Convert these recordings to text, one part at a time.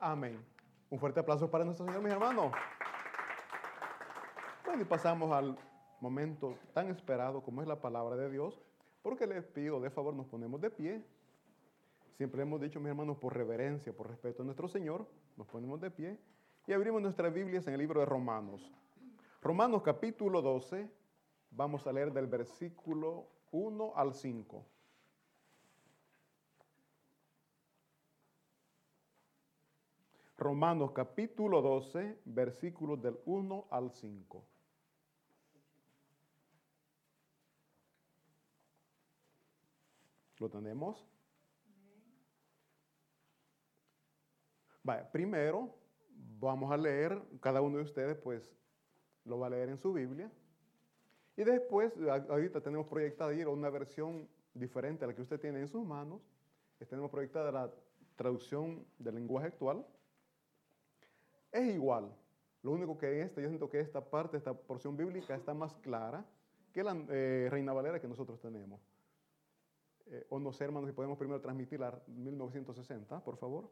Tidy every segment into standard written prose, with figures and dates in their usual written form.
Amén. Un fuerte aplauso para nuestro Señor, mis hermanos. Bueno, y pasamos al momento tan esperado como es la palabra de Dios, porque les pido, de favor, nos ponemos de pie. Siempre hemos dicho, mis hermanos, por reverencia, por respeto a nuestro Señor, nos ponemos de pie y abrimos nuestras Biblias en el libro de Romanos. Romanos capítulo 12, vamos a leer del versículo 1 al 5. Romanos capítulo 12, versículos del 1 al 5. ¿Lo tenemos? Vale, primero vamos a leer, cada uno de ustedes pues lo va a leer en su Biblia. Y después, ahorita tenemos proyectada ir a una versión diferente a la que usted tiene en sus manos. Tenemos proyectada la traducción del lenguaje actual. Es igual. Lo único que yo siento que esta parte, esta porción bíblica está más clara que la Reina Valera que nosotros tenemos. O no sé, hermanos, si podemos primero transmitir la 1960, por favor.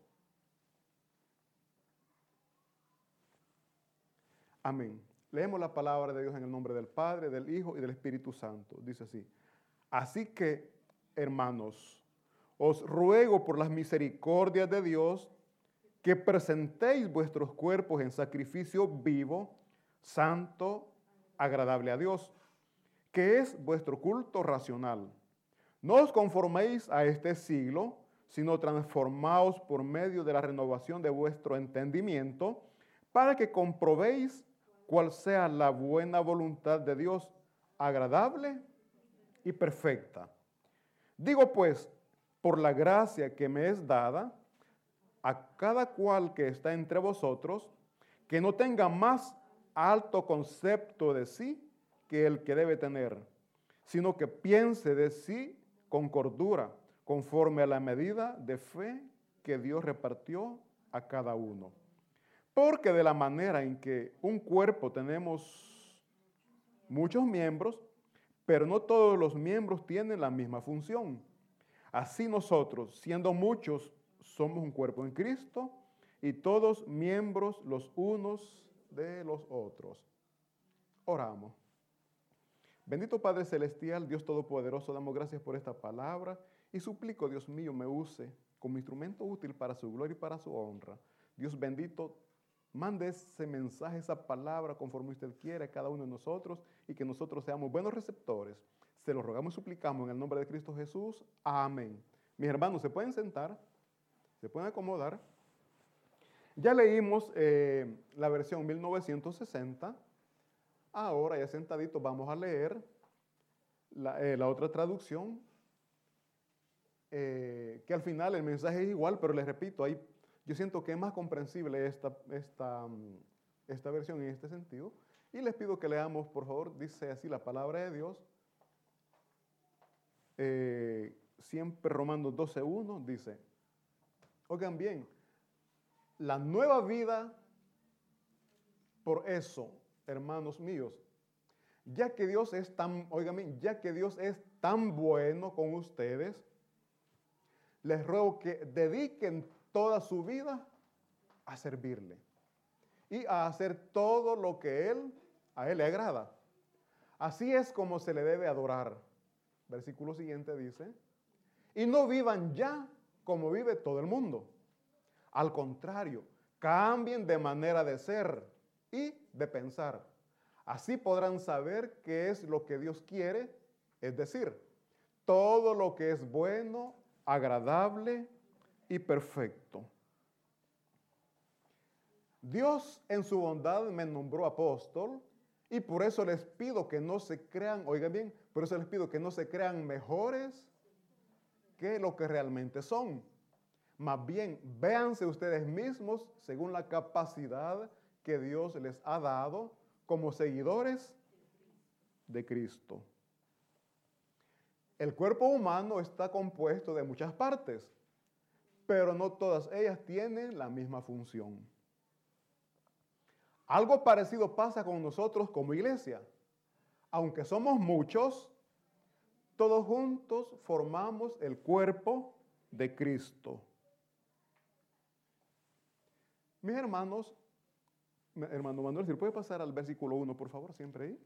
Amén. Leemos la palabra de Dios en el nombre del Padre, del Hijo y del Espíritu Santo. Dice así: así que, hermanos, os ruego por las misericordias de Dios que presentéis vuestros cuerpos en sacrificio vivo, santo, agradable a Dios, que es vuestro culto racional. No os conforméis a este siglo, sino transformaos por medio de la renovación de vuestro entendimiento, para que comprobéis cuál sea la buena voluntad de Dios, agradable y perfecta. Digo pues, por la gracia que me es dada, a cada cual que está entre vosotros, que no tenga más alto concepto de sí que el que debe tener, sino que piense de sí con cordura, conforme a la medida de fe que Dios repartió a cada uno. Porque de la manera en que un cuerpo tenemos muchos miembros, pero no todos los miembros tienen la misma función. Así nosotros, siendo muchos, somos un cuerpo en Cristo y todos miembros los unos de los otros. Oramos. Bendito Padre Celestial, Dios Todopoderoso, damos gracias por esta palabra y suplico, Dios mío, me use como instrumento útil para su gloria y para su honra. Dios bendito, mande ese mensaje, esa palabra conforme usted quiera a cada uno de nosotros y que nosotros seamos buenos receptores. Se lo rogamos y suplicamos en el nombre de Cristo Jesús. Amén. Mis hermanos, ¿se pueden sentar? ¿Se pueden acomodar? Ya leímos la versión 1960. Ahora, ya sentaditos, vamos a leer la otra traducción, que al final el mensaje es igual, pero les repito, yo siento que es más comprensible esta versión en este sentido. Y les pido que leamos, por favor, dice así la palabra de Dios. Siempre Romanos 12:1 dice, oigan bien, la nueva vida, por eso, hermanos míos, ya que Dios es tan, oigan bien, ya que Dios es tan bueno con ustedes, les ruego que dediquen toda su vida a servirle y a hacer todo lo que a Él le agrada. Así es como se le debe adorar. Versículo siguiente dice, y no vivan ya como vive todo el mundo. Al contrario, cambien de manera de ser y de pensar. Así podrán saber qué es lo que Dios quiere, es decir, todo lo que es bueno, agradable y perfecto. Dios en su bondad me nombró apóstol y por eso les pido que no se crean, oigan bien, por eso les pido que no se crean mejores que lo que realmente son. Más bien, véanse ustedes mismos según la capacidad que Dios les ha dado como seguidores de Cristo. El cuerpo humano está compuesto de muchas partes, pero no todas ellas tienen la misma función. Algo parecido pasa con nosotros como iglesia. Aunque somos muchos, todos juntos formamos el cuerpo de Cristo. Mis hermanos, hermano Manuel, si puede pasar al versículo 1, por favor, siempre ahí.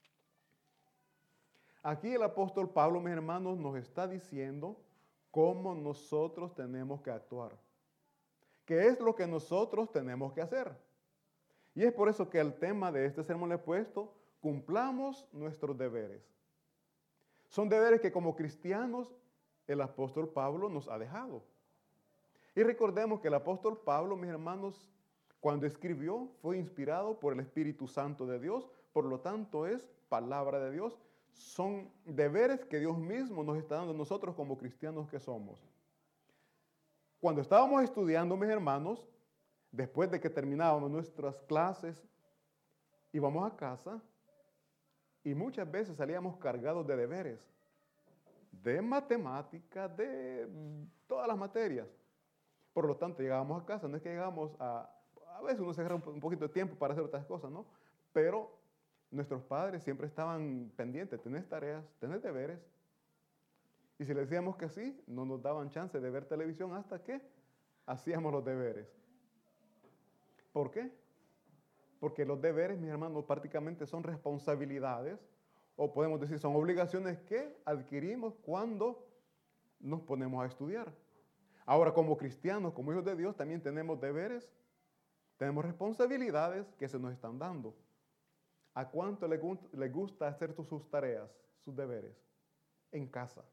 Aquí el apóstol Pablo, mis hermanos, nos está diciendo cómo nosotros tenemos que actuar. ¿Qué es lo que nosotros tenemos que hacer? Y es por eso que el tema de este sermón le he puesto, cumplamos nuestros deberes. Son deberes que como cristianos el apóstol Pablo nos ha dejado. Y recordemos que el apóstol Pablo, mis hermanos, cuando escribió fue inspirado por el Espíritu Santo de Dios, por lo tanto es palabra de Dios. Son deberes que Dios mismo nos está dando a nosotros como cristianos que somos. Cuando estábamos estudiando, mis hermanos, después de que terminábamos nuestras clases, íbamos a casa y muchas veces salíamos cargados de deberes, de matemáticas, de todas las materias. Por lo tanto, llegábamos a casa, no es que llegamos a veces uno se agarra un poquito de tiempo para hacer otras cosas, ¿no? Pero nuestros padres siempre estaban pendientes, tenés tareas, tenés deberes. Y si les decíamos que sí, no nos daban chance de ver televisión hasta que hacíamos los deberes. ¿Por qué? Porque los deberes, mis hermanos, prácticamente son responsabilidades, o podemos decir son obligaciones que adquirimos cuando nos ponemos a estudiar. Ahora, como cristianos, como hijos de Dios, también tenemos deberes, tenemos responsabilidades que se nos están dando. ¿A cuánto le gusta hacer sus tareas, sus deberes? En casa.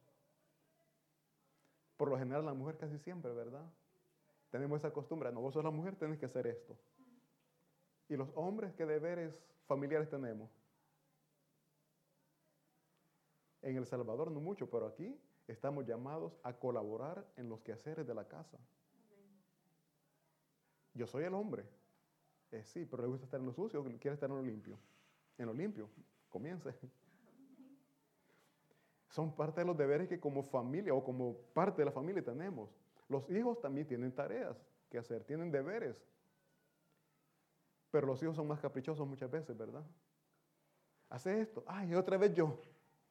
Por lo general, la mujer casi siempre, ¿verdad? Tenemos esa costumbre. No, vos sos la mujer, tenés que hacer esto. ¿Y los hombres qué deberes familiares tenemos? En El Salvador no mucho, pero aquí estamos llamados a colaborar en los quehaceres de la casa. Yo soy el hombre. Sí, pero le gusta estar en lo sucio o quiere estar en lo limpio. En lo limpio, comience. Son parte de los deberes que como familia o como parte de la familia tenemos. Los hijos también tienen tareas que hacer, tienen deberes. Pero los hijos son más caprichosos muchas veces, ¿verdad? Hace esto. Ay, otra vez yo.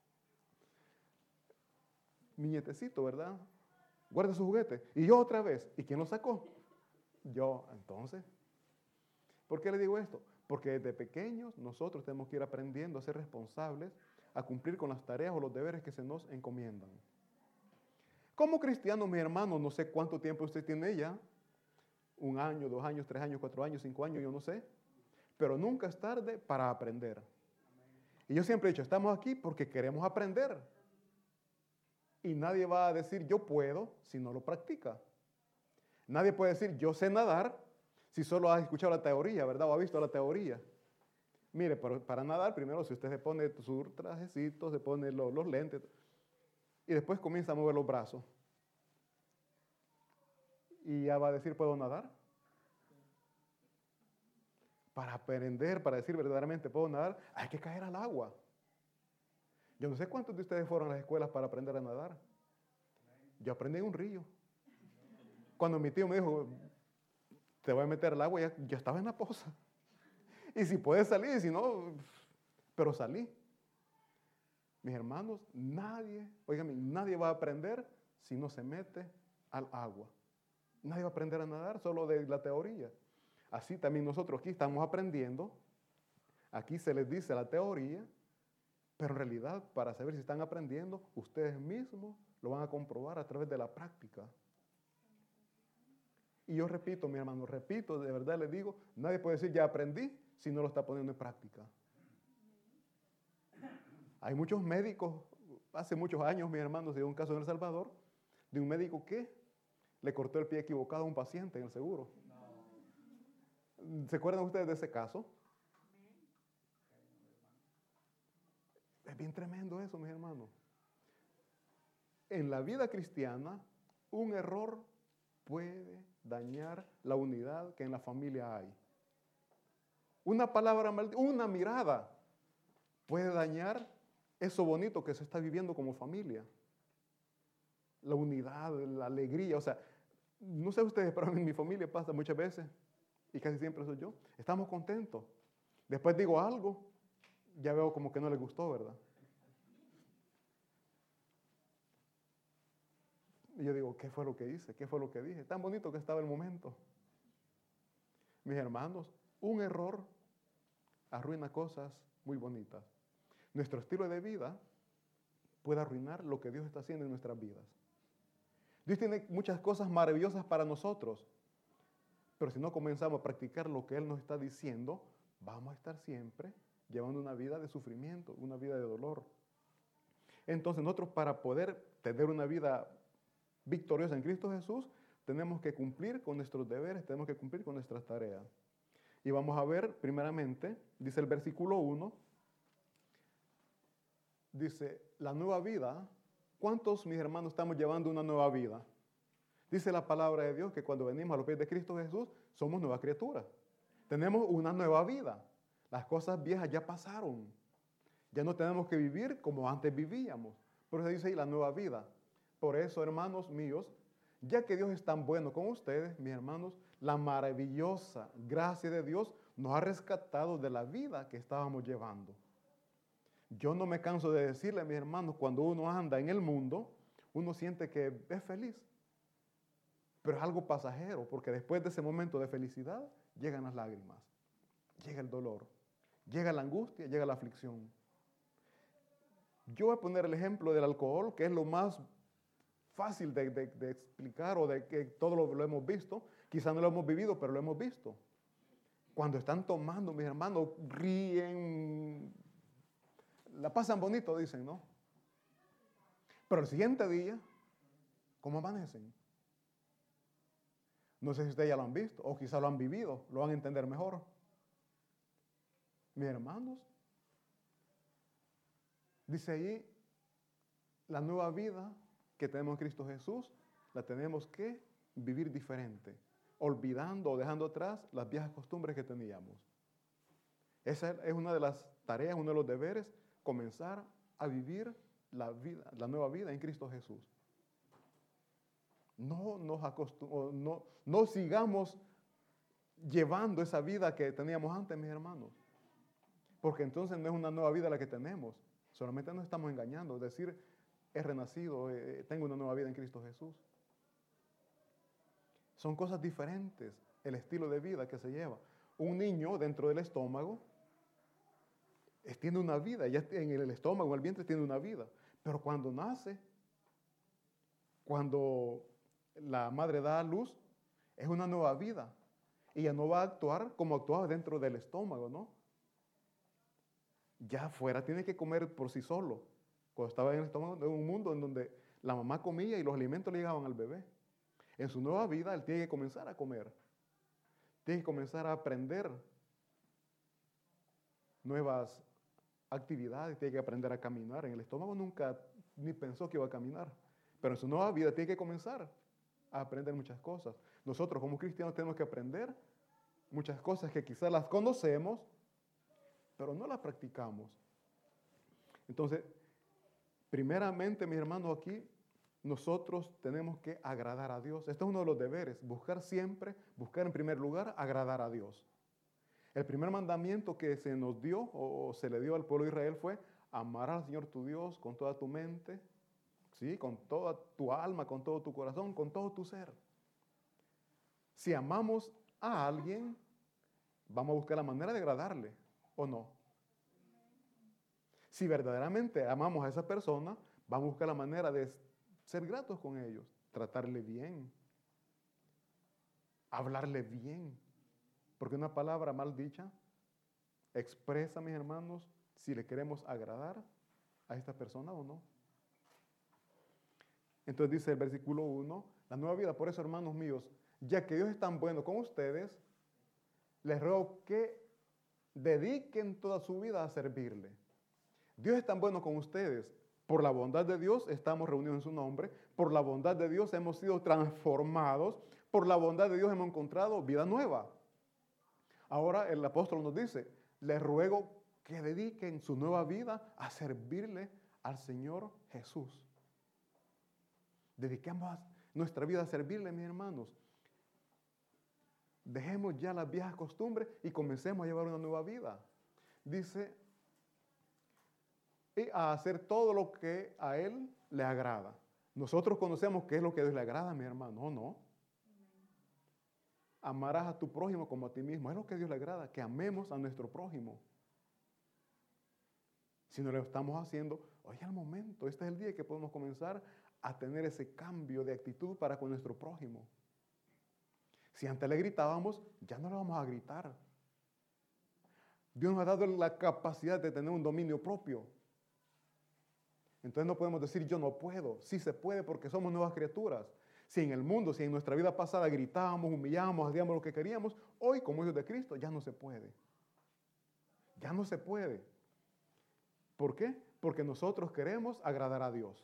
Mi nietecito, ¿verdad? Guarda su juguete. Y yo otra vez. ¿Y quién lo sacó? Yo, entonces. ¿Por qué le digo esto? Porque desde pequeños nosotros tenemos que ir aprendiendo a ser responsables, a cumplir con las tareas o los deberes que se nos encomiendan. Como cristianos, mi hermano, no sé cuánto tiempo usted tiene ya. 1 año, 2 años, 3 años, 4 años, 5 años, yo no sé. Pero nunca es tarde para aprender. Y yo siempre he dicho, estamos aquí porque queremos aprender. Y nadie va a decir yo puedo si no lo practica. Nadie puede decir yo sé nadar si solo ha escuchado la teoría, ¿verdad? O ha visto la teoría. Mire, para nadar, primero si usted se pone su trajecito, se pone los lentes y después comienza a mover los brazos. Y ya va a decir, ¿puedo nadar? Para aprender, para decir verdaderamente puedo nadar, hay que caer al agua. Yo no sé cuántos de ustedes fueron a las escuelas para aprender a nadar. Yo aprendí en un río. Cuando mi tío me dijo, te voy a meter al agua, ya estaba en la poza. Y si puedes salir, y si no, pero salí. Mis hermanos, nadie va a aprender si no se mete al agua. Nadie va a aprender a nadar solo de la teoría. Así también nosotros aquí estamos aprendiendo. Aquí se les dice la teoría, pero en realidad para saber si están aprendiendo, ustedes mismos lo van a comprobar a través de la práctica. Y yo repito, mi hermano, repito, de verdad les digo, nadie puede decir ya aprendí si no lo está poniendo en práctica. Hay muchos médicos, hace muchos años, mis hermanos, se dio un caso en El Salvador, de un médico que le cortó el pie equivocado a un paciente en el seguro. ¿Se acuerdan ustedes de ese caso? Es bien tremendo eso, mis hermanos. En la vida cristiana, un error puede dañar la unidad que en la familia hay. Una palabra maldita, una mirada puede dañar eso bonito que se está viviendo como familia. La unidad, la alegría, o sea, no sé ustedes, pero en mi familia pasa muchas veces, y casi siempre soy yo, estamos contentos. Después digo algo, ya veo como que no les gustó, ¿verdad? Y yo digo, ¿qué fue lo que hice? ¿Qué fue lo que dije? Tan bonito que estaba el momento. mis hermanos, un error arruina cosas muy bonitas. Nuestro estilo de vida puede arruinar lo que Dios está haciendo en nuestras vidas. Dios tiene muchas cosas maravillosas para nosotros, pero si no comenzamos a practicar lo que Él nos está diciendo, vamos a estar siempre llevando una vida de sufrimiento, una vida de dolor. Entonces nosotros, para poder tener una vida victoriosa en Cristo Jesús, tenemos que cumplir con nuestros deberes, tenemos que cumplir con nuestras tareas. Y vamos a ver primeramente, dice el versículo 1, dice, la nueva vida. ¿Cuántos, mis hermanos, estamos llevando una nueva vida? Dice la palabra de Dios que cuando venimos a los pies de Cristo Jesús, somos nuevas criaturas. Tenemos una nueva vida. Las cosas viejas ya pasaron. Ya no tenemos que vivir como antes vivíamos. Por eso dice ahí la nueva vida. Por eso, hermanos míos, ya que Dios es tan bueno con ustedes, mis hermanos, la maravillosa gracia de Dios nos ha rescatado de la vida que estábamos llevando. Yo no me canso de decirle a mis hermanos, cuando uno anda en el mundo, uno siente que es feliz. Pero es algo pasajero, porque después de ese momento de felicidad, llegan las lágrimas, llega el dolor, llega la angustia, llega la aflicción. Yo voy a poner el ejemplo del alcohol, que es lo más fácil de explicar, o de que todos lo hemos visto. Quizás no lo hemos vivido, pero lo hemos visto. Cuando están tomando, mis hermanos, ríen, la pasan bonito, dicen, ¿no? Pero el siguiente día, ¿cómo amanecen? No sé si ustedes ya lo han visto, o quizás lo han vivido, lo van a entender mejor. Mis hermanos, dice ahí, la nueva vida que tenemos en Cristo Jesús, la tenemos que vivir diferente, olvidando o dejando atrás las viejas costumbres que teníamos. Esa es una de las tareas, uno de los deberes, comenzar a vivir la vida, la nueva vida en Cristo Jesús. No sigamos llevando esa vida que teníamos antes, mis hermanos, porque entonces no es una nueva vida la que tenemos, solamente nos estamos engañando, es decir, he renacido, tengo una nueva vida en Cristo Jesús. Son cosas diferentes el estilo de vida que se lleva. Un niño dentro del estómago tiene una vida, ya en el estómago, en el vientre tiene una vida, pero cuando nace, cuando la madre da a luz, es una nueva vida. Y ya no va a actuar como actuaba dentro del estómago, ¿no? Ya afuera tiene que comer por sí solo. Cuando estaba en el estómago, de un mundo en donde la mamá comía y los alimentos le llegaban al bebé. En su nueva vida, él tiene que comenzar a comer. Tiene que comenzar a aprender nuevas actividades, tiene que aprender a caminar. En el estómago nunca ni pensó que iba a caminar. Pero en su nueva vida tiene que comenzar a aprender muchas cosas. Nosotros como cristianos tenemos que aprender muchas cosas que quizás las conocemos, pero no las practicamos. Entonces, primeramente, mis hermanos, aquí nosotros tenemos que agradar a Dios. Este es uno de los deberes, buscar en primer lugar, agradar a Dios. El primer mandamiento que se nos dio o se le dio al pueblo de Israel fue amar al Señor tu Dios con toda tu mente, ¿sí? Con toda tu alma, con todo tu corazón, con todo tu ser. Si amamos a alguien, vamos a buscar la manera de agradarle, ¿o no? Si verdaderamente amamos a esa persona, vamos a buscar la manera de ser gratos con ellos, tratarle bien, hablarle bien. Porque una palabra mal dicha expresa, mis hermanos, si le queremos agradar a esta persona o no. Entonces dice el versículo 1, la nueva vida. Por eso, hermanos míos, ya que Dios es tan bueno con ustedes, les ruego que dediquen toda su vida a servirle. Dios es tan bueno con ustedes. Por la bondad de Dios estamos reunidos en su nombre. Por la bondad de Dios hemos sido transformados. Por la bondad de Dios hemos encontrado vida nueva. Ahora el apóstol nos dice, les ruego que dediquen su nueva vida a servirle al Señor Jesús. Dediquemos nuestra vida a servirle, mis hermanos. Dejemos ya las viejas costumbres y comencemos a llevar una nueva vida. Dice, y a hacer todo lo que a Él le agrada. Nosotros conocemos qué es lo que a Dios le agrada, mi hermano, ¿o no? amarás a tu prójimo como a ti mismo. Es lo que a Dios le agrada, que amemos a nuestro prójimo. Si no lo estamos haciendo, hoy es el momento, este es el día que podemos comenzar a tener ese cambio de actitud para con nuestro prójimo. Si antes le gritábamos, ya no le vamos a gritar. Dios nos ha dado la capacidad de tener un dominio propio. Entonces no podemos decir yo no puedo. Sí se puede porque somos nuevas criaturas. Si en el mundo, si en nuestra vida pasada gritábamos, humillábamos, hacíamos lo que queríamos, hoy como hijos de Cristo ya no se puede. Ya no se puede. ¿Por qué? Porque nosotros queremos agradar a Dios.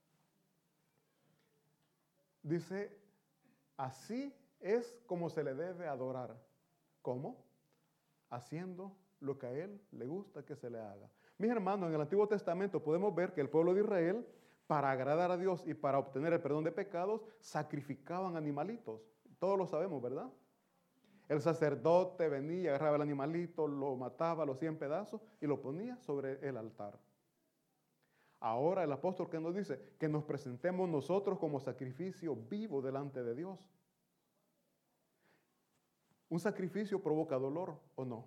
Dice, así es como se le debe adorar. ¿Cómo? Haciendo lo que a Él le gusta que se le haga. Mis hermanos, en el Antiguo Testamento podemos ver que el pueblo de Israel, para agradar a Dios y para obtener el perdón de pecados, sacrificaban animalitos. Todos lo sabemos, ¿verdad? El sacerdote venía, agarraba el animalito, lo mataba, lo hacía en pedazos y lo ponía sobre el altar. Ahora el apóstol que nos dice que nos presentemos nosotros como sacrificio vivo delante de Dios. ¿Un sacrificio provoca dolor o no?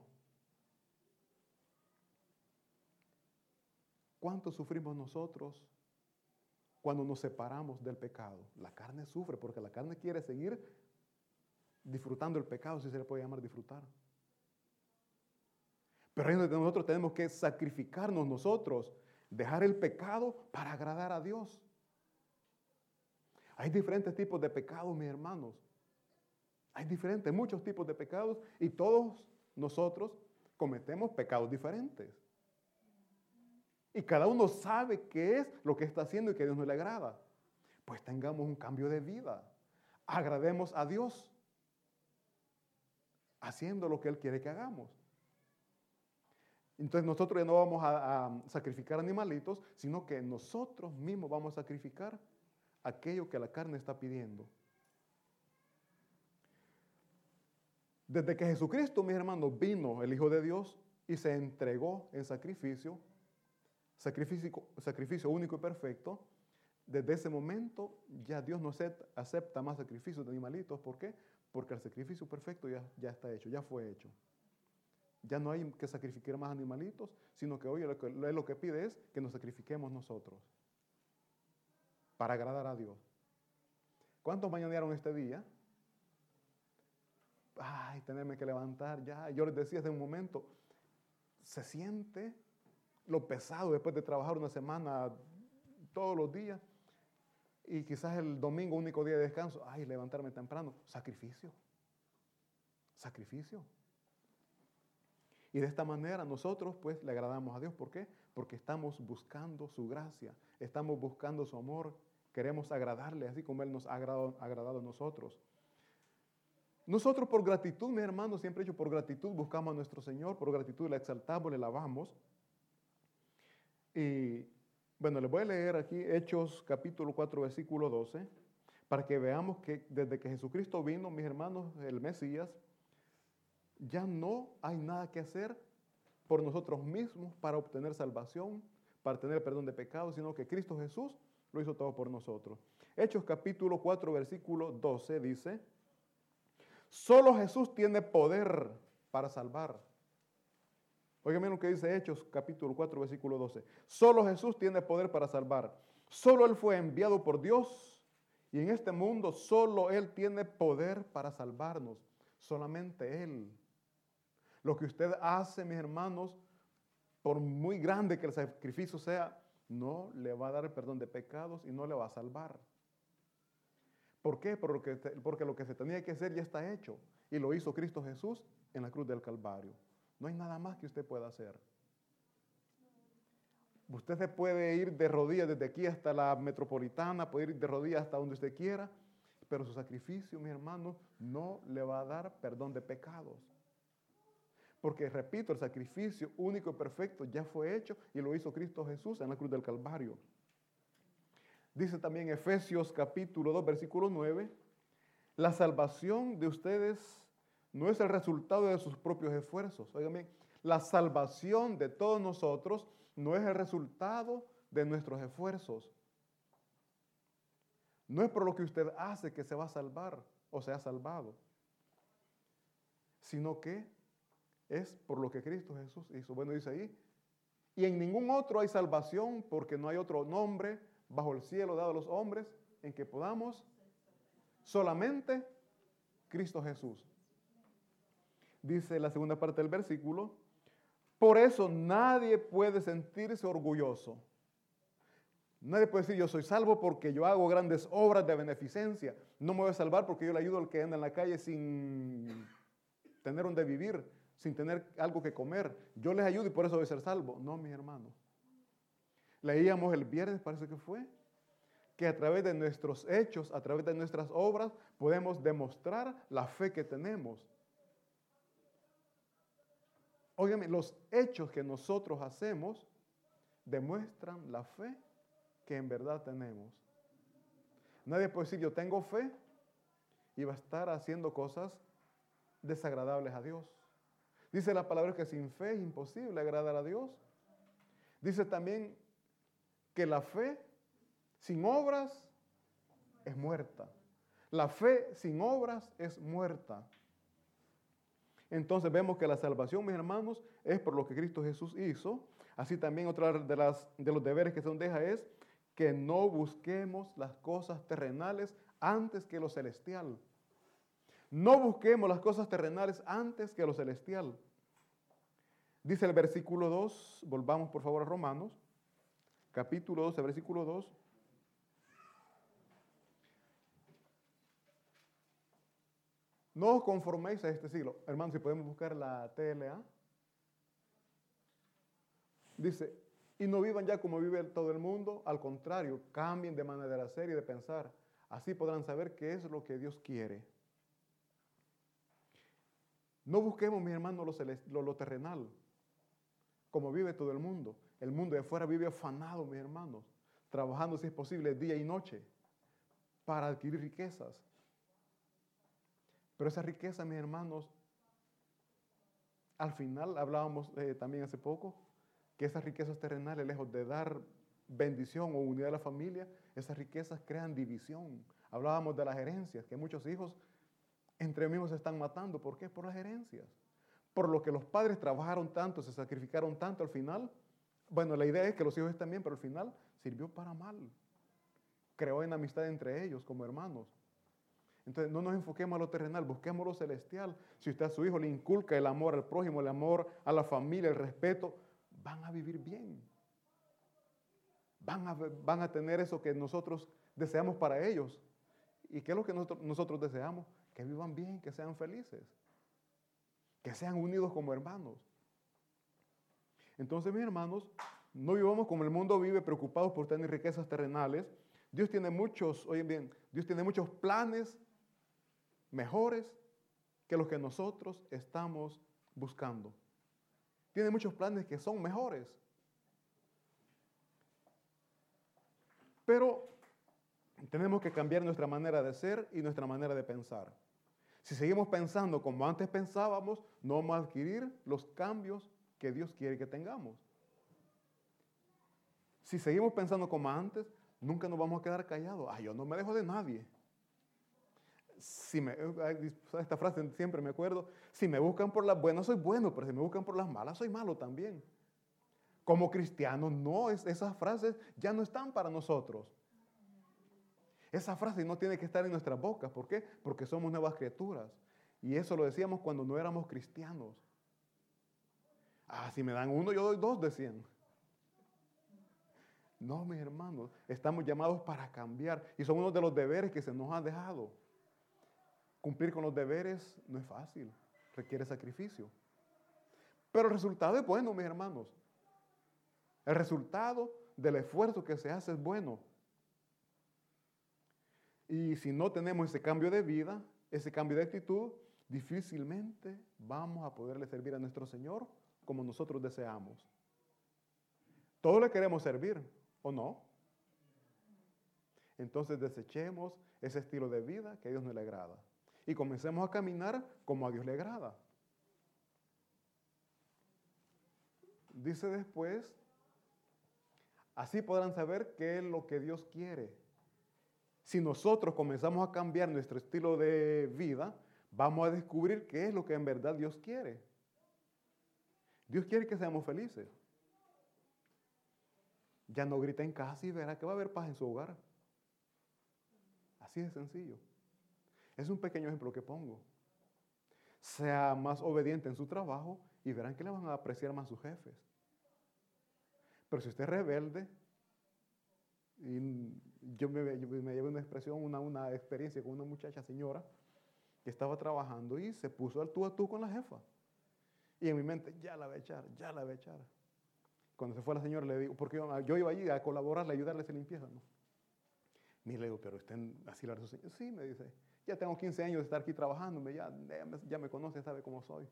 ¿Cuánto sufrimos nosotros cuando nos separamos del pecado? La carne sufre porque la carne quiere seguir disfrutando el pecado, si se le puede llamar disfrutar. Pero nosotros tenemos que sacrificarnos nosotros, dejar el pecado para agradar a Dios. Hay diferentes tipos de pecados, mis hermanos. Hay muchos tipos de pecados y todos nosotros cometemos pecados diferentes. Y cada uno sabe qué es lo que está haciendo y que a Dios no le agrada. Pues tengamos un cambio de vida. Agrademos a Dios haciendo lo que Él quiere que hagamos. Entonces nosotros ya no vamos a sacrificar animalitos, sino que nosotros mismos vamos a sacrificar aquello que la carne está pidiendo. Desde que Jesucristo, mis hermanos, vino el Hijo de Dios y se entregó en sacrificio único y perfecto, desde ese momento ya Dios no acepta más sacrificios de animalitos. ¿Por qué? Porque el sacrificio perfecto ya está hecho, ya fue hecho. Ya no hay que sacrificar más animalitos, sino que hoy lo que pide es que nos sacrifiquemos nosotros para agradar a Dios. ¿Cuántos mañanearon este día? Ay, tenerme que levantar ya. Yo les decía hace un momento, se siente lo pesado después de trabajar una semana todos los días y quizás el domingo, único día de descanso, ay, levantarme temprano. Sacrificio. Y de esta manera nosotros pues le agradamos a Dios. ¿Por qué? Porque estamos buscando su gracia, estamos buscando su amor, queremos agradarle así como Él nos ha agradado a nosotros. Nosotros por gratitud, mis hermanos, siempre he dicho, por gratitud buscamos a nuestro Señor, por gratitud le exaltamos, le alabamos. Y bueno, les voy a leer aquí Hechos capítulo 4, versículo 12, para que veamos que desde que Jesucristo vino, mis hermanos, el Mesías, ya no hay nada que hacer por nosotros mismos para obtener salvación, para tener perdón de pecados, sino que Cristo Jesús lo hizo todo por nosotros. Hechos capítulo 4, versículo 12 dice, solo Jesús tiene poder para salvar. Oigan lo que dice Hechos capítulo 4, versículo 12. Solo Jesús tiene poder para salvar. Solo Él fue enviado por Dios y en este mundo solo Él tiene poder para salvarnos. Solamente Él. Lo que usted hace, mis hermanos, por muy grande que el sacrificio sea, no le va a dar el perdón de pecados y no le va a salvar. ¿Por qué? Porque lo que se tenía que hacer ya está hecho y lo hizo Cristo Jesús en la cruz del Calvario. No hay nada más que usted pueda hacer. Usted se puede ir de rodillas desde aquí hasta la metropolitana, puede ir de rodillas hasta donde usted quiera, pero su sacrificio, mis hermanos, no le va a dar perdón de pecados. Porque, repito, el sacrificio único y perfecto ya fue hecho y lo hizo Cristo Jesús en la cruz del Calvario. Dice también Efesios capítulo 2, versículo 9, la salvación de ustedes no es el resultado de sus propios esfuerzos. Oigan bien, la salvación de todos nosotros no es el resultado de nuestros esfuerzos. No es por lo que usted hace que se va a salvar o se ha salvado. sino que es por lo que Cristo Jesús hizo. Bueno, dice ahí, y en ningún otro hay salvación, porque no hay otro nombre bajo el cielo dado a los hombres en que podamos, solamente Cristo Jesús. Dice la segunda parte del versículo, por eso nadie puede sentirse orgulloso. Nadie puede decir, yo soy salvo porque yo hago grandes obras de beneficencia. No me voy a salvar porque yo le ayudo al que anda en la calle sin tener donde vivir, sin tener algo que comer. Yo les ayudo y por eso voy a ser salvo. No, mis hermanos. Leíamos el viernes, parece que fue, que a través de nuestros hechos, a través de nuestras obras, podemos demostrar la fe que tenemos. Óigame, los hechos que nosotros hacemos demuestran la fe que en verdad tenemos. Nadie puede decir, yo tengo fe y va a estar haciendo cosas desagradables a Dios. Dice la palabra que sin fe es imposible agradar a Dios. Dice también que la fe sin obras es muerta. La fe sin obras es muerta. Entonces vemos que la salvación, mis hermanos, es por lo que Cristo Jesús hizo. Así también otra de los deberes que se nos deja es que no busquemos las cosas terrenales antes que lo celestial. No busquemos las cosas terrenales antes que lo celestial. Dice el versículo 2, volvamos por favor a Romanos, capítulo 12, versículo 2. No os conforméis a este siglo. Hermanos, si podemos buscar la TLA. Dice, y no vivan ya como vive todo el mundo. Al contrario, cambien de manera de hacer y de pensar. Así podrán saber qué es lo que Dios quiere. No busquemos, mis hermanos, lo terrenal, como vive todo el mundo. El mundo de afuera vive afanado, mis hermanos, trabajando, si es posible, día y noche para adquirir riquezas. Pero esa riqueza, mis hermanos, al final, hablábamos también hace poco, que esas riquezas terrenales, lejos de dar bendición o unidad a la familia, esas riquezas crean división. Hablábamos de las herencias, que muchos hijos entre ellos mismos se están matando. ¿Por qué? Por las herencias. Por lo que los padres trabajaron tanto, se sacrificaron tanto al final. Bueno, la idea es que los hijos estén bien, pero al final sirvió para mal. Creó enemistad entre ellos como hermanos. Entonces, no nos enfoquemos a lo terrenal, busquemos lo celestial. Si usted a su hijo le inculca el amor al prójimo, el amor a la familia, el respeto, van a vivir bien. Van a tener eso que nosotros deseamos para ellos. ¿Y qué es lo que nosotros deseamos? Que vivan bien, que sean felices, que sean unidos como hermanos. Entonces, mis hermanos, no vivamos como el mundo vive, preocupados por tener riquezas terrenales. Dios tiene muchos, oigan bien, Dios tiene muchos planes mejores que los que nosotros estamos buscando. Tiene muchos planes que son mejores. Pero tenemos que cambiar nuestra manera de ser y nuestra manera de pensar. Si seguimos pensando como antes pensábamos, no vamos a adquirir los cambios que Dios quiere que tengamos. Si seguimos pensando como antes, nunca nos vamos a quedar callados. Yo no me dejo de nadie. Esta frase siempre me acuerdo, si me buscan por las buenas soy bueno, pero si me buscan por las malas soy malo también. Como cristianos, no, esas frases ya no están para nosotros. Esa frase no tiene que estar en nuestras bocas. ¿Por qué? Porque somos nuevas criaturas. Y eso lo decíamos cuando no éramos cristianos. Si me dan uno, yo doy dos, decían. No, mis hermanos, estamos llamados para cambiar. Y son uno de los deberes que se nos han dejado. Cumplir con los deberes no es fácil, requiere sacrificio. Pero el resultado es bueno, mis hermanos. El resultado del esfuerzo que se hace es bueno. Y si no tenemos ese cambio de vida, ese cambio de actitud, difícilmente vamos a poderle servir a nuestro Señor como nosotros deseamos. Todos le queremos servir, ¿o no? Entonces desechemos ese estilo de vida que a Dios no le agrada. Y comencemos a caminar como a Dios le agrada. Dice después, así podrán saber qué es lo que Dios quiere. Si nosotros comenzamos a cambiar nuestro estilo de vida, vamos a descubrir qué es lo que en verdad Dios quiere. Dios quiere que seamos felices. Ya no grita en casa y verá que va a haber paz en su hogar. Así de sencillo. Es un pequeño ejemplo que pongo. Sea más obediente en su trabajo y verán que le van a apreciar más sus jefes. Pero si usted es rebelde, y yo me llevé una expresión, una experiencia con una muchacha señora que estaba trabajando y se puso al tú a tú con la jefa. Y en mi mente, ya la voy a echar, ya la voy a echar. Cuando se fue la señora le digo, porque yo iba allí a colaborarle, a ayudarle a hacer limpieza, ¿no? Y le digo, pero usted así la señora. Sí, me dice, ya tengo 15 años de estar aquí trabajando, ya me conoce, sabe cómo soy.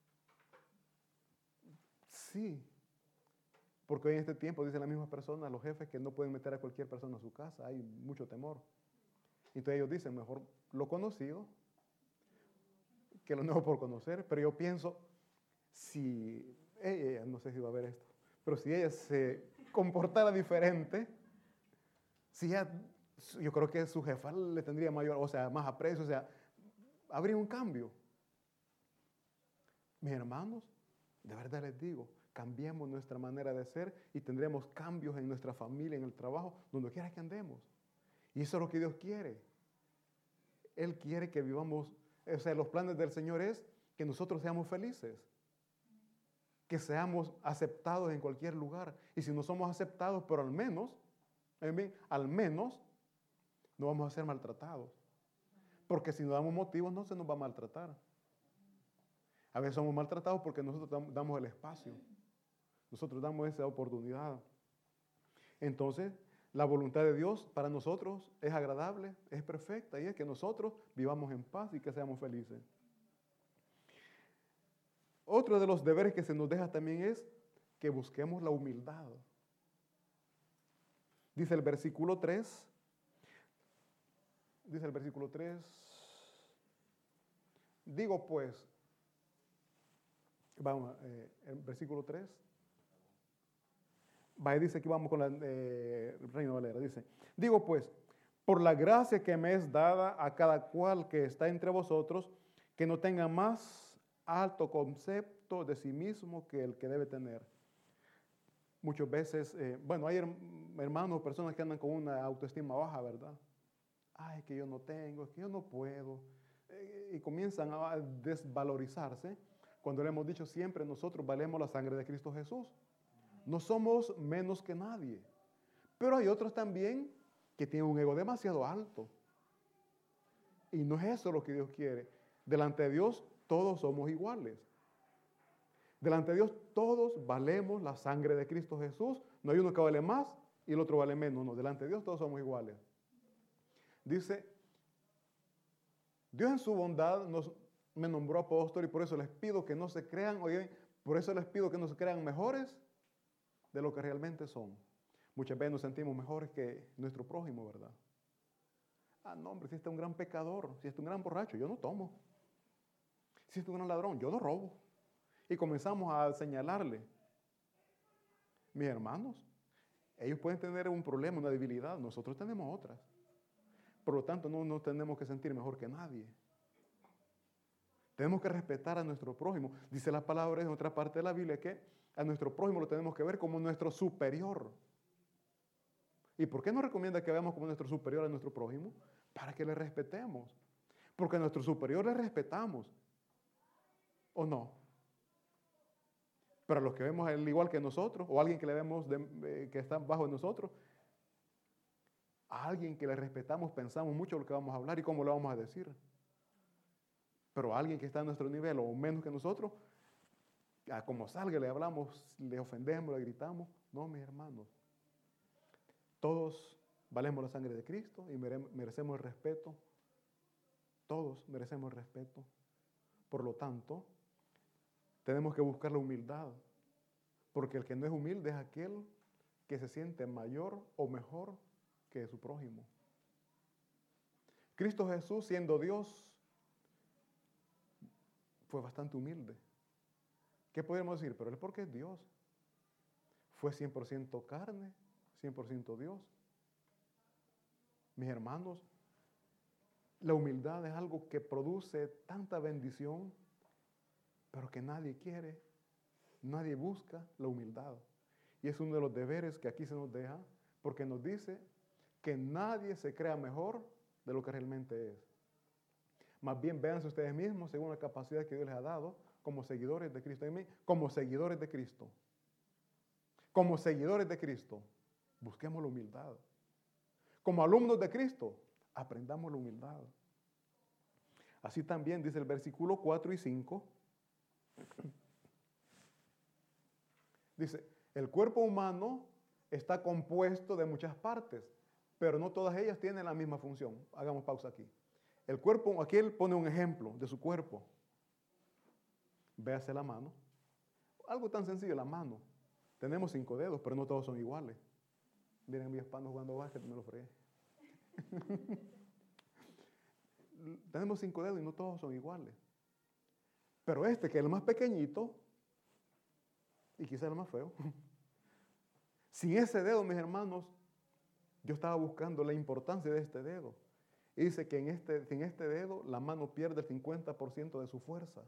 Sí, porque hoy en este tiempo, dice la misma persona, los jefes que no pueden meter a cualquier persona a su casa, hay mucho temor. Entonces ellos dicen, mejor lo conocido que lo nuevo por conocer, pero yo pienso, si ella, no sé si va a ver esto, pero si ella se comportara diferente, si ella, yo creo que su jefa le tendría mayor, o sea, más aprecio, o sea, habría un cambio. Mis hermanos, de verdad les digo, cambiemos nuestra manera de ser y tendremos cambios en nuestra familia, en el trabajo, donde quiera que andemos. Y eso es lo que Dios quiere. Él quiere que vivamos, o sea, los planes del Señor es que nosotros seamos felices, que seamos aceptados en cualquier lugar. Y si no somos aceptados, pero al menos no vamos a ser maltratados. Porque si no damos motivos, no se nos va a maltratar. A veces somos maltratados porque nosotros damos el espacio. Nosotros damos esa oportunidad. Entonces, la voluntad de Dios para nosotros es agradable, es perfecta, y es que nosotros vivamos en paz y que seamos felices. Otro de los deberes que se nos deja también es que busquemos la humildad. Dice el versículo 3, digo pues, vamos, el versículo 3, dice que vamos con la Reina Valera, dice, digo pues, por la gracia que me es dada a cada cual que está entre vosotros, que no tenga más alto concepto de sí mismo que el que debe tener. Muchas veces, hay hermanos, personas que andan con una autoestima baja, ¿verdad? Ay, que yo no tengo, es que yo no puedo. Y comienzan a desvalorizarse cuando le hemos dicho siempre, nosotros valemos la sangre de Cristo Jesús. No somos menos que nadie. Pero hay otros también que tienen un ego demasiado alto. Y no es eso lo que Dios quiere. Delante de Dios todos somos iguales. Delante de Dios todos valemos la sangre de Cristo Jesús. No hay uno que vale más y el otro vale menos. No, delante de Dios todos somos iguales. Dice, Dios en su bondad me nombró apóstol y por eso les pido que no se crean, oye, por eso les pido que no se crean mejores de lo que realmente son. Muchas veces nos sentimos mejores que nuestro prójimo, ¿verdad? Ah, no, hombre, si este es un gran pecador, si este es un gran borracho, yo no tomo. Si este es un gran ladrón, yo no robo. Y comenzamos a señalarle. Mis hermanos, ellos pueden tener un problema, una debilidad, nosotros tenemos otras. Por lo tanto, no nos tenemos que sentir mejor que nadie. Tenemos que respetar a nuestro prójimo. Dice la palabra en otra parte de la Biblia que a nuestro prójimo lo tenemos que ver como nuestro superior. ¿Y por qué nos recomienda que veamos como nuestro superior a nuestro prójimo? Para que le respetemos. Porque a nuestro superior le respetamos. ¿O no? Pero a los que vemos al igual que nosotros, o a alguien que le vemos que está bajo de nosotros, a alguien que le respetamos, pensamos mucho lo que vamos a hablar y cómo lo vamos a decir. Pero a alguien que está a nuestro nivel o menos que nosotros, como salga le hablamos, le ofendemos, le gritamos. No, mis hermanos. Todos valemos la sangre de Cristo y merecemos el respeto. Todos merecemos el respeto. Por lo tanto, tenemos que buscar la humildad. Porque el que no es humilde es aquel que se siente mayor o mejor que su prójimo. Cristo Jesús, siendo Dios, fue bastante humilde. ¿Qué podemos decir? Pero él porque es Dios. Fue 100% carne, 100% Dios. Mis hermanos, La humildad es algo que produce tanta bendición, pero que nadie quiere, nadie busca la humildad. Y es uno de los deberes que aquí se nos deja, porque nos dice que nadie se crea mejor de lo que realmente es. Más bien véanse ustedes mismos según la capacidad que Dios les ha dado como seguidores de Cristo. Como seguidores de Cristo. Como seguidores de Cristo, busquemos la humildad. Como alumnos de Cristo, aprendamos la humildad. Así también dice el versículo 4 y 5. Dice, el cuerpo humano está compuesto de muchas partes, pero no todas ellas tienen la misma función. Hagamos pausa aquí. El cuerpo, aquí él pone un ejemplo de su cuerpo. Véase la mano. Algo tan sencillo, la mano. Tenemos 5 dedos, pero no todos son iguales. Miren mi hispano jugando básquet, me lo fregué. Tenemos 5 dedos y no todos son iguales. Pero este, que es el más pequeñito, y quizás el más feo, sin ese dedo, mis hermanos, yo estaba buscando la importancia de este dedo. Y dice que en este dedo la mano pierde el 50% de su fuerza.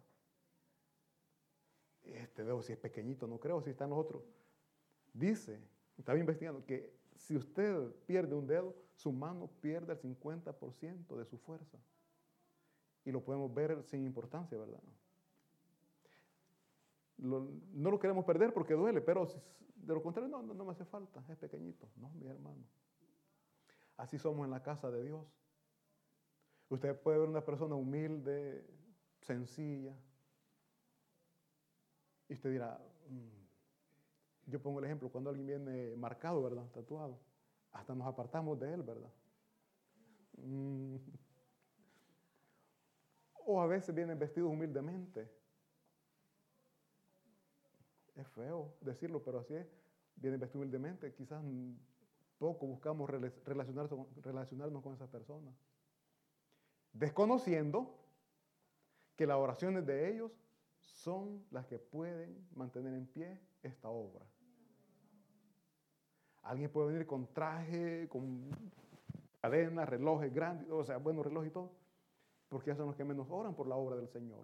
Este dedo, si es pequeñito, no creo, si están los otros. Dice, estaba investigando, que si usted pierde un dedo, su mano pierde el 50% de su fuerza. Y lo podemos ver sin importancia, ¿verdad? No lo queremos perder porque duele, pero de lo contrario, no me hace falta, es pequeñito. No, mi hermano. Así somos en la casa de Dios. Usted puede ver una persona humilde, sencilla, y usted dirá, yo pongo el ejemplo, cuando alguien viene marcado, ¿verdad? Tatuado, hasta nos apartamos de él, ¿verdad? O a veces vienen vestidos humildemente. Es feo decirlo, pero así es. Vienen vestidos humildemente, quizás poco buscamos relacionarnos con esas personas. Desconociendo que las oraciones de ellos son las que pueden mantener en pie esta obra. Alguien puede venir con traje, con cadenas, relojes grandes, o sea, buenos relojes y todo, porque ellos son los que menos oran por la obra del Señor.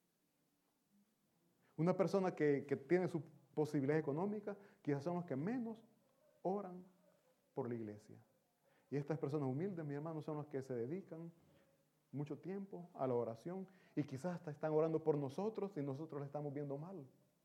Una persona que tiene su posibilidad económica, quizás son los que menos oran por la iglesia. Y estas personas humildes, mis hermanos, son los que se dedican mucho tiempo a la oración y quizás hasta están orando por nosotros y nosotros le estamos viendo mal.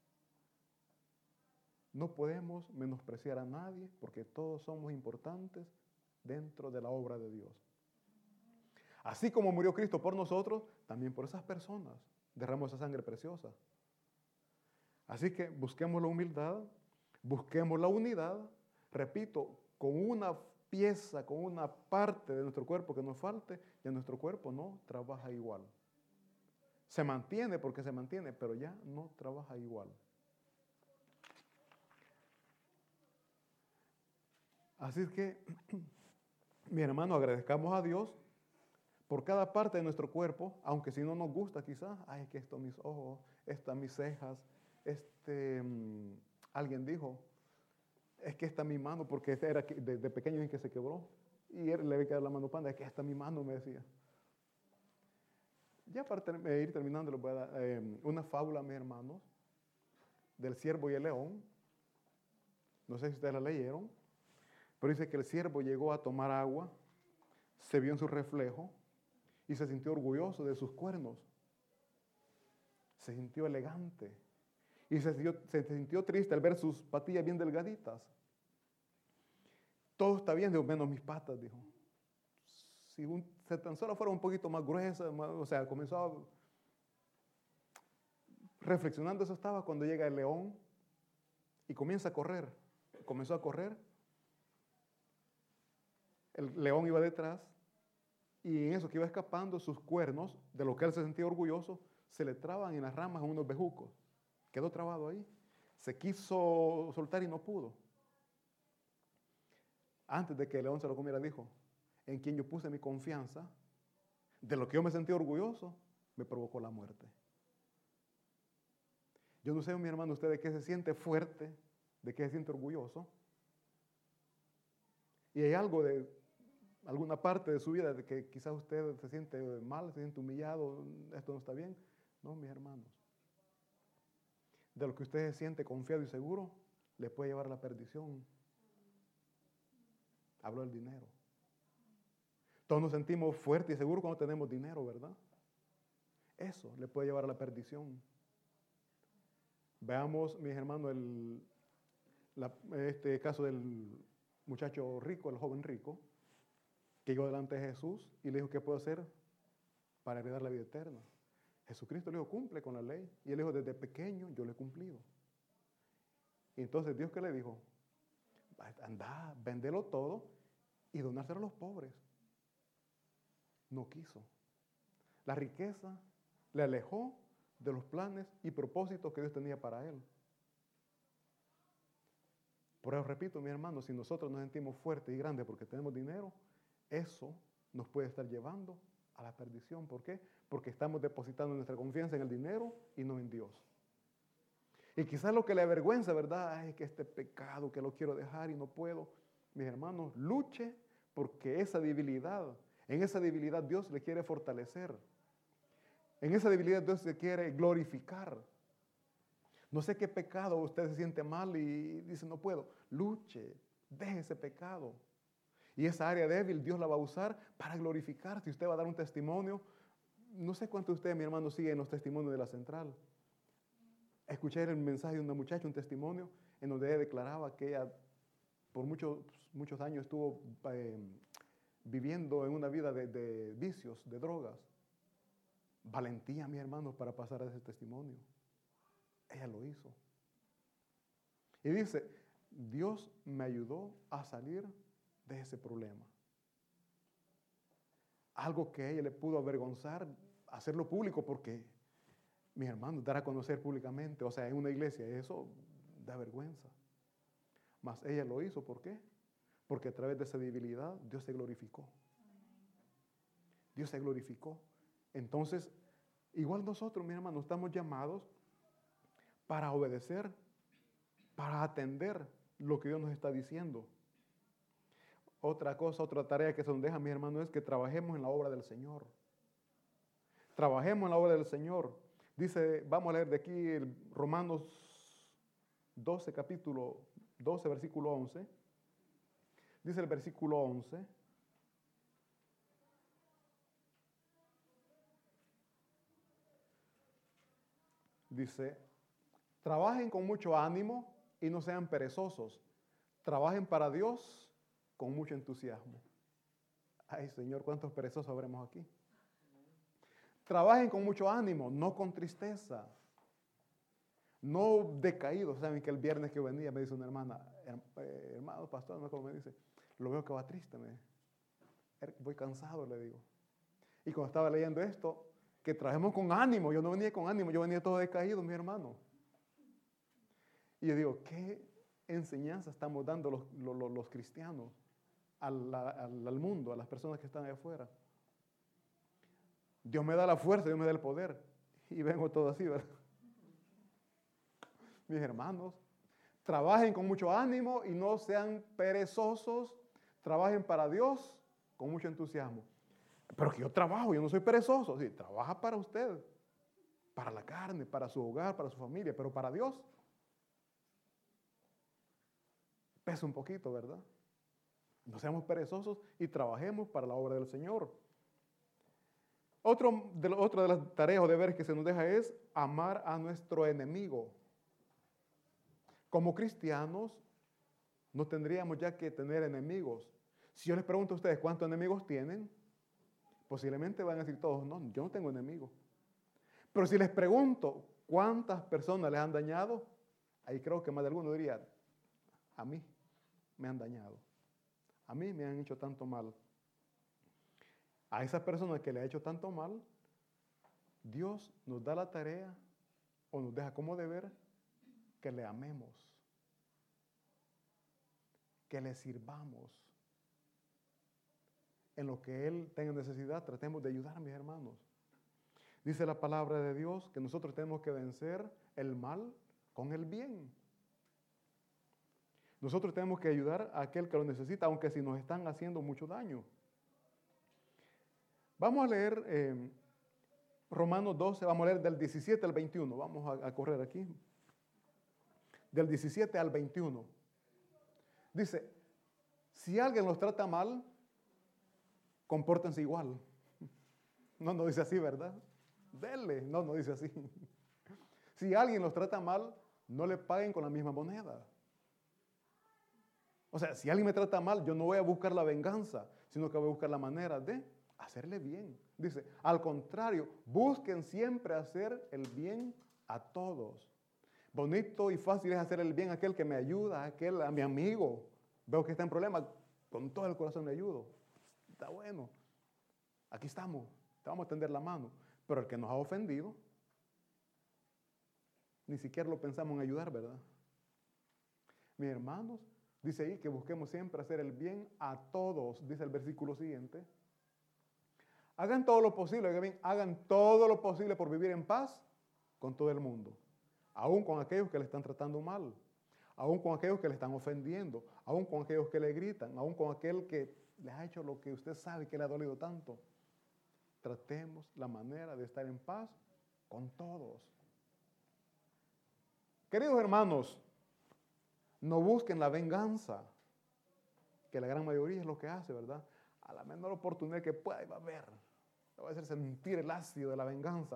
No podemos menospreciar a nadie porque todos somos importantes dentro de la obra de Dios. Así como murió Cristo por nosotros, también por esas personas derramó esa sangre preciosa. Así que busquemos la humildad, busquemos la unidad, repito, con una pieza, con una parte de nuestro cuerpo que nos falte, ya nuestro cuerpo no trabaja igual. Se mantiene porque se mantiene, pero ya no trabaja igual. Así es que, mi hermano, agradezcamos a Dios por cada parte de nuestro cuerpo, aunque si no nos gusta quizás, ay, que esto mis ojos, estas mis cejas, alguien dijo, es que esta mi mano, porque era de pequeño en que se quebró, y él le había quedado la mano panda, es que esta mi mano, me decía. Ya para ir terminando, les voy a dar una fábula, mis hermanos, del ciervo y el león. No sé si ustedes la leyeron, pero dice que el ciervo llegó a tomar agua, se vio en su reflejo y se sintió orgulloso de sus cuernos. Se sintió elegante y se sintió triste al ver sus patillas bien delgaditas. Todo está bien, menos mis patas, dijo. Si tan solo fuera un poquito más gruesa, o sea, comenzó a... Reflexionando eso estaba cuando llega el león y comienza a correr. Comenzó a correr. El león iba detrás y en eso que iba escapando, sus cuernos, de lo que él se sentía orgulloso, se le traban en las ramas a unos bejucos. Quedó trabado ahí. Se quiso soltar y no pudo. Antes de que el león se lo comiera, dijo, en quien yo puse mi confianza, de lo que yo me sentí orgulloso, me provocó la muerte. Yo no sé, mi hermano, usted de qué se siente fuerte, de qué se siente orgulloso. Y hay algo de alguna parte de su vida de que quizás usted se siente mal, se siente humillado, esto no está bien. No, mis hermanos. De lo que usted se siente confiado y seguro, le puede llevar a la perdición. Hablo del dinero. Todos nos sentimos fuertes y seguros cuando tenemos dinero, ¿verdad? Eso le puede llevar a la perdición. Veamos, mis hermanos, este caso del muchacho rico, el joven rico, que llegó delante de Jesús y le dijo, ¿qué puedo hacer para heredar la vida eterna? Jesucristo le dijo, cumple con la ley. Y él dijo, desde pequeño yo lo he cumplido. Y entonces Dios, ¿qué le dijo? Anda, véndelo todo y donárselo a los pobres. No quiso. La riqueza le alejó de los planes y propósitos que Dios tenía para él. Por eso repito, mi hermano, si nosotros nos sentimos fuertes y grandes porque tenemos dinero, eso nos puede estar llevando a la perdición. ¿Por qué? Porque estamos depositando nuestra confianza en el dinero y no en Dios. Y quizás lo que le avergüenza, ¿verdad? Es que este pecado que lo quiero dejar y no puedo. Mis hermanos, luche porque en esa debilidad Dios le quiere fortalecer. En esa debilidad Dios se quiere glorificar. No sé qué pecado usted se siente mal y dice no puedo. Luche, deje ese pecado. Y esa área débil Dios la va a usar para glorificar. Si usted va a dar un testimonio, no sé cuántos de ustedes, mi hermano, siguen los testimonios de la central. Escuché el mensaje de una muchacha, un testimonio, en donde ella declaraba que ella por muchos años estuvo viviendo en una vida de vicios, de drogas. Valentía, mis hermanos, para pasar a ese testimonio. Ella lo hizo. Y dice, Dios me ayudó a salir de ese problema. Algo que a ella le pudo avergonzar, hacerlo público, porque, mis hermanos, dar a conocer públicamente, o sea, en una iglesia, eso da vergüenza. Mas ella lo hizo, ¿por qué? Porque a través de esa debilidad Dios se glorificó. Dios se glorificó. Entonces, igual nosotros, mis hermanos, estamos llamados para obedecer, para atender lo que Dios nos está diciendo. Otra cosa, otra tarea que se nos deja, mis hermanos, es que trabajemos en la obra del Señor. Trabajemos en la obra del Señor. Dice, vamos a leer de aquí el Romanos 12, capítulo 12, versículo 11. Dice el versículo 11. Dice, trabajen con mucho ánimo y no sean perezosos. Trabajen para Dios con mucho entusiasmo. Ay, Señor, ¿cuántos perezosos habremos aquí? Trabajen con mucho ánimo, no con tristeza. No decaídos. Saben que el viernes que venía me dice una hermana, hermano pastor, no como me dice, lo veo que va triste. Voy cansado, le digo. Y cuando estaba leyendo esto, que trabajemos con ánimo. Yo no venía con ánimo, yo venía todo decaído, mi hermano. Y yo digo, ¿qué enseñanza estamos dando los cristianos al mundo, a las personas que están allá afuera? Dios me da la fuerza, Dios me da el poder. Y vengo todo así, ¿verdad? Mis hermanos, trabajen con mucho ánimo y no sean perezosos. Trabajen para Dios con mucho entusiasmo. Pero que yo trabajo, yo no soy perezoso. Sí, trabaja para usted, para la carne, para su hogar, para su familia, pero para Dios pesa un poquito, ¿verdad? No seamos perezosos y trabajemos para la obra del Señor. Otra de las tareas o deberes que se nos deja es amar a nuestro enemigo. Como cristianos, no tendríamos ya que tener enemigos. Si yo les pregunto a ustedes cuántos enemigos tienen, posiblemente van a decir todos, no, yo no tengo enemigos. Pero si les pregunto cuántas personas les han dañado, ahí creo que más de alguno diría, a mí me han dañado. A mí me han hecho tanto mal. A esas personas que le ha hecho tanto mal, Dios nos da la tarea o nos deja como deber que le amemos, que le sirvamos. En lo que Él tenga necesidad, tratemos de ayudar a mis hermanos. Dice la palabra de Dios que nosotros tenemos que vencer el mal con el bien. Nosotros tenemos que ayudar a aquel que lo necesita, aunque si nos están haciendo mucho daño. Vamos a leer Romanos 12, vamos a leer del 17 al 21. Vamos a correr aquí. Del 17 al 21. Dice, si alguien los trata mal, compórtense igual. No dice así, ¿verdad? Denle. No dice así. Si alguien los trata mal, no le paguen con la misma moneda. O sea, si alguien me trata mal, yo no voy a buscar la venganza, sino que voy a buscar la manera de hacerle bien. Dice, al contrario, busquen siempre hacer el bien a todos. Bonito y fácil es hacer el bien a aquel que me ayuda, a mi amigo. Veo que está en problema, con todo el corazón le ayudo. Está bueno. Aquí estamos, te vamos a tender la mano. Pero el que nos ha ofendido, ni siquiera lo pensamos en ayudar, ¿verdad? Mis hermanos, dice ahí que busquemos siempre hacer el bien a todos, dice el versículo siguiente. Hagan todo lo posible, oigan bien, hagan todo lo posible por vivir en paz con todo el mundo, aún con aquellos que le están tratando mal, aún con aquellos que le están ofendiendo, aún con aquellos que le gritan, aún con aquel que les ha hecho lo que usted sabe que le ha dolido tanto. Tratemos la manera de estar en paz con todos. Queridos hermanos, no busquen la venganza, que la gran mayoría es lo que hace, ¿verdad? A la menor oportunidad que pueda, va a haber. Le va a hacer sentir el ácido de la venganza.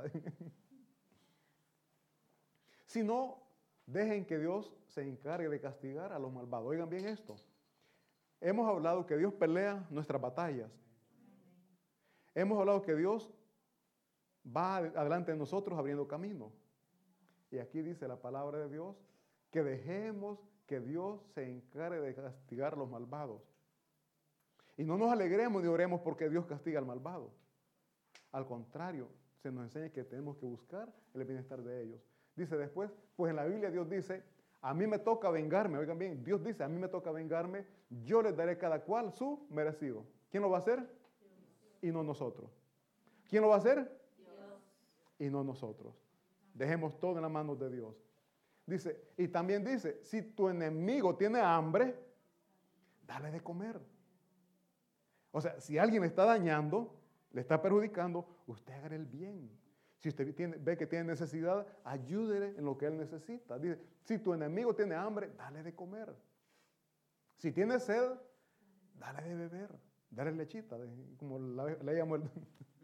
Si no, dejen que Dios se encargue de castigar a los malvados. Oigan bien esto. Hemos hablado que Dios pelea nuestras batallas. Hemos hablado que Dios va adelante de nosotros abriendo camino. Y aquí dice la palabra de Dios que dejemos que Dios se encargue de castigar a los malvados. Y no nos alegremos ni oremos porque Dios castiga al malvado. Al contrario, se nos enseña que tenemos que buscar el bienestar de ellos. Dice después, pues en la Biblia Dios dice, a mí me toca vengarme. Oigan bien, Dios dice, a mí me toca vengarme, yo les daré cada cual su merecido. ¿Quién lo va a hacer? Dios. Y no nosotros. ¿Quién lo va a hacer? Dios. Y no nosotros. Dejemos todo en las manos de Dios. Dice, y también dice, si tu enemigo tiene hambre, dale de comer. O sea, si alguien le está dañando, le está perjudicando, usted haga el bien. Si usted ve que tiene necesidad, ayúdele en lo que él necesita. Dice, si tu enemigo tiene hambre, dale de comer. Si tiene sed, dale de beber. Dale lechita, como le llamo el...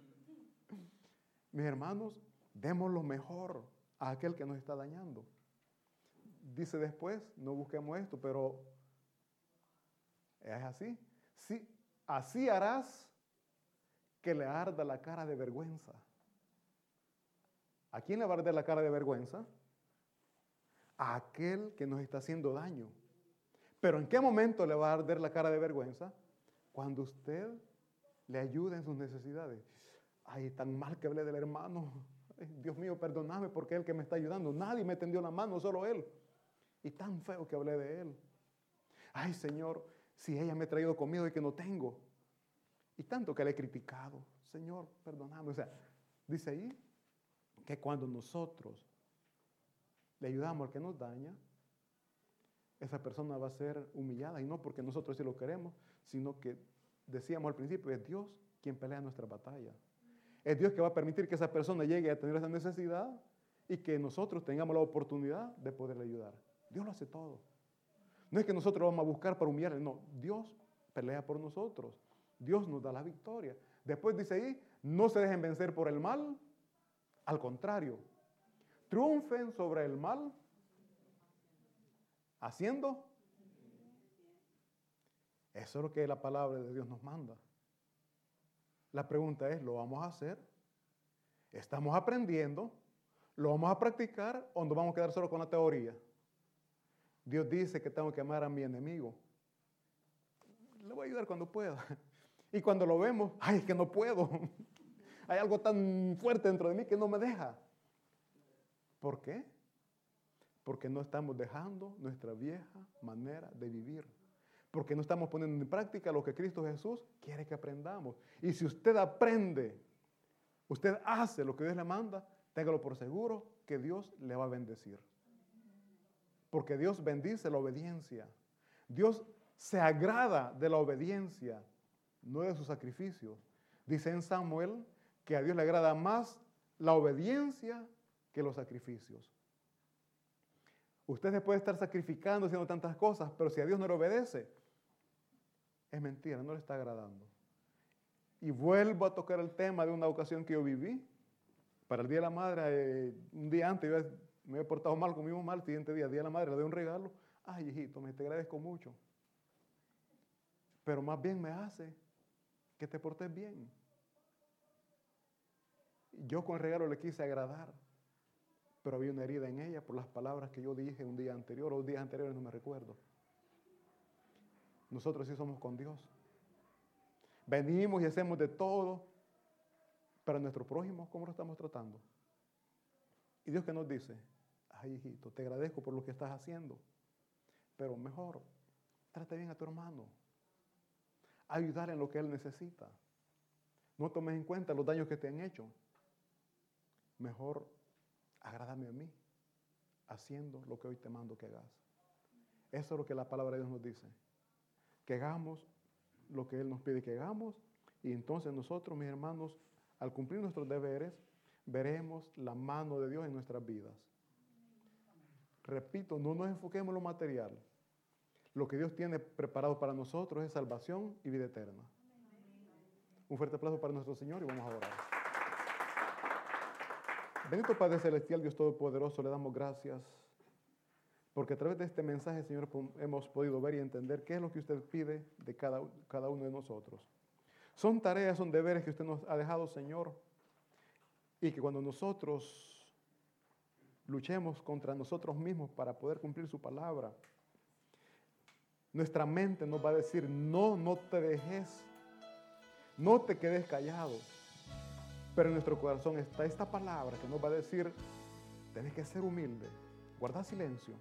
Mis hermanos, demos lo mejor a aquel que nos está dañando. Dice después, no busquemos esto, pero es así. Sí, así harás que le arda la cara de vergüenza. ¿A quién le va a arder la cara de vergüenza? A aquel que nos está haciendo daño. Pero ¿en qué momento le va a arder la cara de vergüenza? Cuando usted le ayude en sus necesidades. Ay, tan mal que hablé del hermano. Ay, Dios mío, perdóname porque es el que me está ayudando. Nadie me tendió la mano, solo él. Y tan feo que hablé de él. Ay, Señor, si ella me ha traído comida y que no tengo. Y tanto que le he criticado. Señor, perdóname. O sea, dice ahí que cuando nosotros le ayudamos al que nos daña, esa persona va a ser humillada. Y no porque nosotros sí lo queremos, sino que decíamos al principio, es Dios quien pelea nuestra batalla. Es Dios que va a permitir que esa persona llegue a tener esa necesidad y que nosotros tengamos la oportunidad de poderle ayudar. Dios lo hace todo. No es que nosotros vamos a buscar para humillarle, no. Dios pelea por nosotros. Dios nos da la victoria. Después dice ahí, no se dejen vencer por el mal. Al contrario, triunfen sobre el mal haciendo. Eso es lo que la palabra de Dios nos manda. La pregunta es, ¿lo vamos a hacer? ¿Estamos aprendiendo? ¿Lo vamos a practicar o nos vamos a quedar solo con la teoría? Dios dice que tengo que amar a mi enemigo. Le voy a ayudar cuando pueda. Y cuando lo vemos, ay, es que no puedo. Hay algo tan fuerte dentro de mí que no me deja. ¿Por qué? Porque no estamos dejando nuestra vieja manera de vivir. Porque no estamos poniendo en práctica lo que Cristo Jesús quiere que aprendamos. Y si usted aprende, usted hace lo que Dios le manda, téngalo por seguro que Dios le va a bendecir. Porque Dios bendice la obediencia. Dios se agrada de la obediencia, no de sus sacrificios. Dice en Samuel que a Dios le agrada más la obediencia que los sacrificios. Usted se puede estar sacrificando, haciendo tantas cosas, pero si a Dios no le obedece, es mentira, no le está agradando. Y vuelvo a tocar el tema de una ocasión que yo viví. Para el Día de la Madre, un día antes yo me había portado mal con mi mamá, el siguiente día, Día de la Madre, le doy un regalo. Ay, hijito, te agradezco mucho. Pero más bien me hace que te portes bien. Yo con el regalo le quise agradar, pero había una herida en ella por las palabras que yo dije un día anterior o días anteriores, no me recuerdo. Nosotros sí somos con Dios. Venimos y hacemos de todo, pero a nuestro prójimo, ¿cómo lo estamos tratando? Y Dios que nos dice, ay hijito, te agradezco por lo que estás haciendo, pero mejor, trata bien a tu hermano. Ayudarle en lo que él necesita. No tomes en cuenta los daños que te han hecho. Mejor, agrádame a mí, haciendo lo que hoy te mando que hagas. Eso es lo que la palabra de Dios nos dice. Que hagamos lo que Él nos pide que hagamos, y entonces nosotros, mis hermanos, al cumplir nuestros deberes, veremos la mano de Dios en nuestras vidas. Repito, no nos enfoquemos en lo material. Lo que Dios tiene preparado para nosotros es salvación y vida eterna. Un fuerte aplauso para nuestro Señor y vamos a orar. Bendito Padre Celestial, Dios Todopoderoso, le damos gracias porque a través de este mensaje, Señor, hemos podido ver y entender qué es lo que usted pide de cada uno de nosotros. Son tareas, son deberes que usted nos ha dejado, Señor, y que cuando nosotros luchemos contra nosotros mismos para poder cumplir su palabra, nuestra mente nos va a decir, no, no te dejes, no te quedes callado. Pero en nuestro corazón está esta palabra que nos va a decir, tienes que ser humilde, guarda silencio.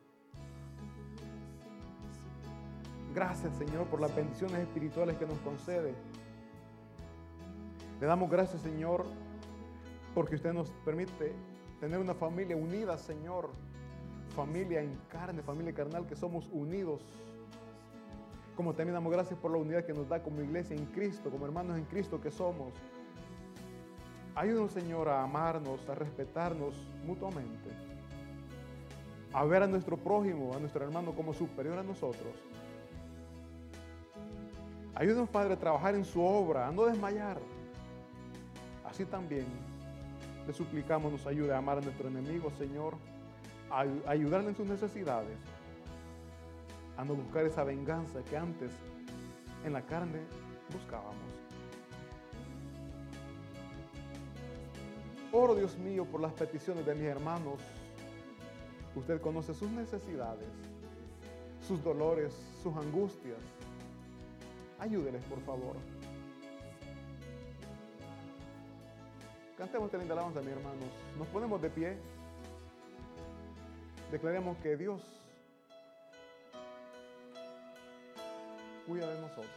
Gracias, Señor, por las bendiciones espirituales que nos concede. Le damos gracias, Señor, porque usted nos permite tener una familia unida, Señor. Familia en carne, familia carnal, que somos unidos. Como también damos gracias por la unidad que nos da como iglesia en Cristo, como hermanos en Cristo que somos. Ayúdanos, Señor, a amarnos, a respetarnos mutuamente, a ver a nuestro prójimo, a nuestro hermano como superior a nosotros. Ayúdanos, Padre, a trabajar en su obra, a no desmayar. Así también le suplicamos nos ayude a amar a nuestro enemigo, Señor, a ayudarle en sus necesidades, a no buscar esa venganza que antes en la carne buscábamos. Oro, Dios mío, por las peticiones de mis hermanos. Usted conoce sus necesidades, sus dolores, sus angustias. Ayúdeles, por favor. Cantemos esta linda alabanza, mis hermanos. Nos ponemos de pie. Declaremos que Dios cuida de nosotros.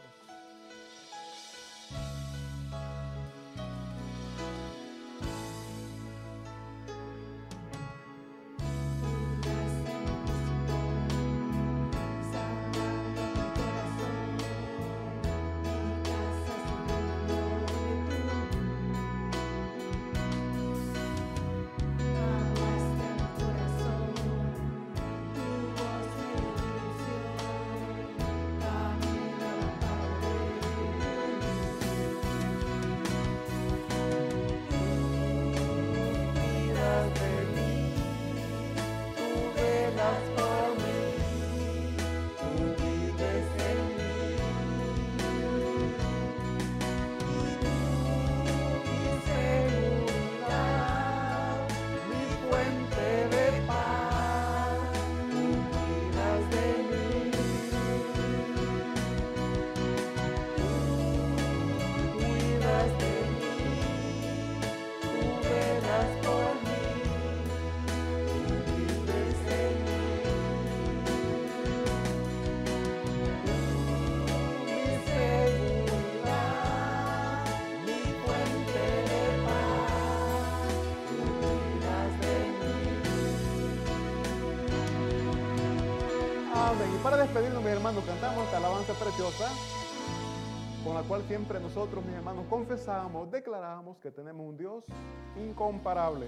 Amén. Y para despedirnos, mis hermanos, cantamos esta alabanza preciosa con con la cual siempre nosotros, mis hermanos, confesamos, declaramos que tenemos un Dios incomparable.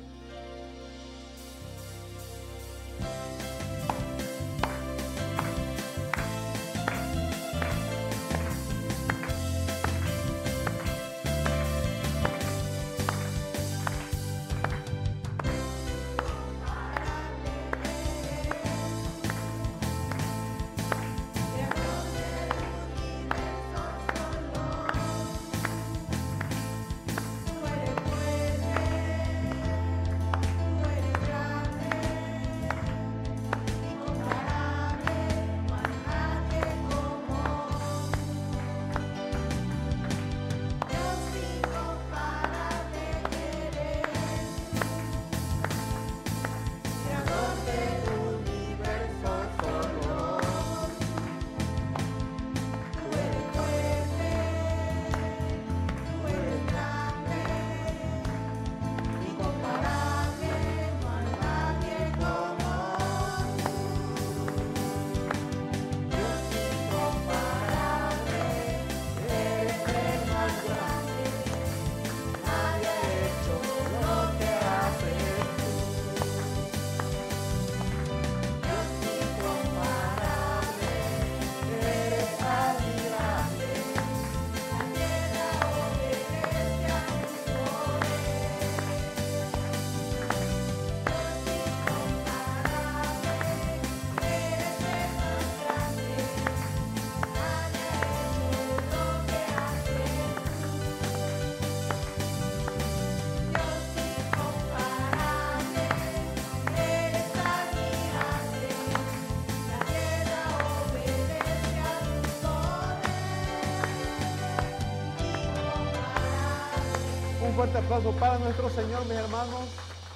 Un fuerte aplauso para nuestro Señor, mis hermanos.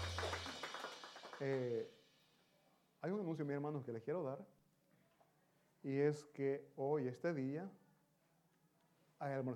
Hay un anuncio, mis hermanos, que les quiero dar. Y es que hoy, este día, hay almuerzo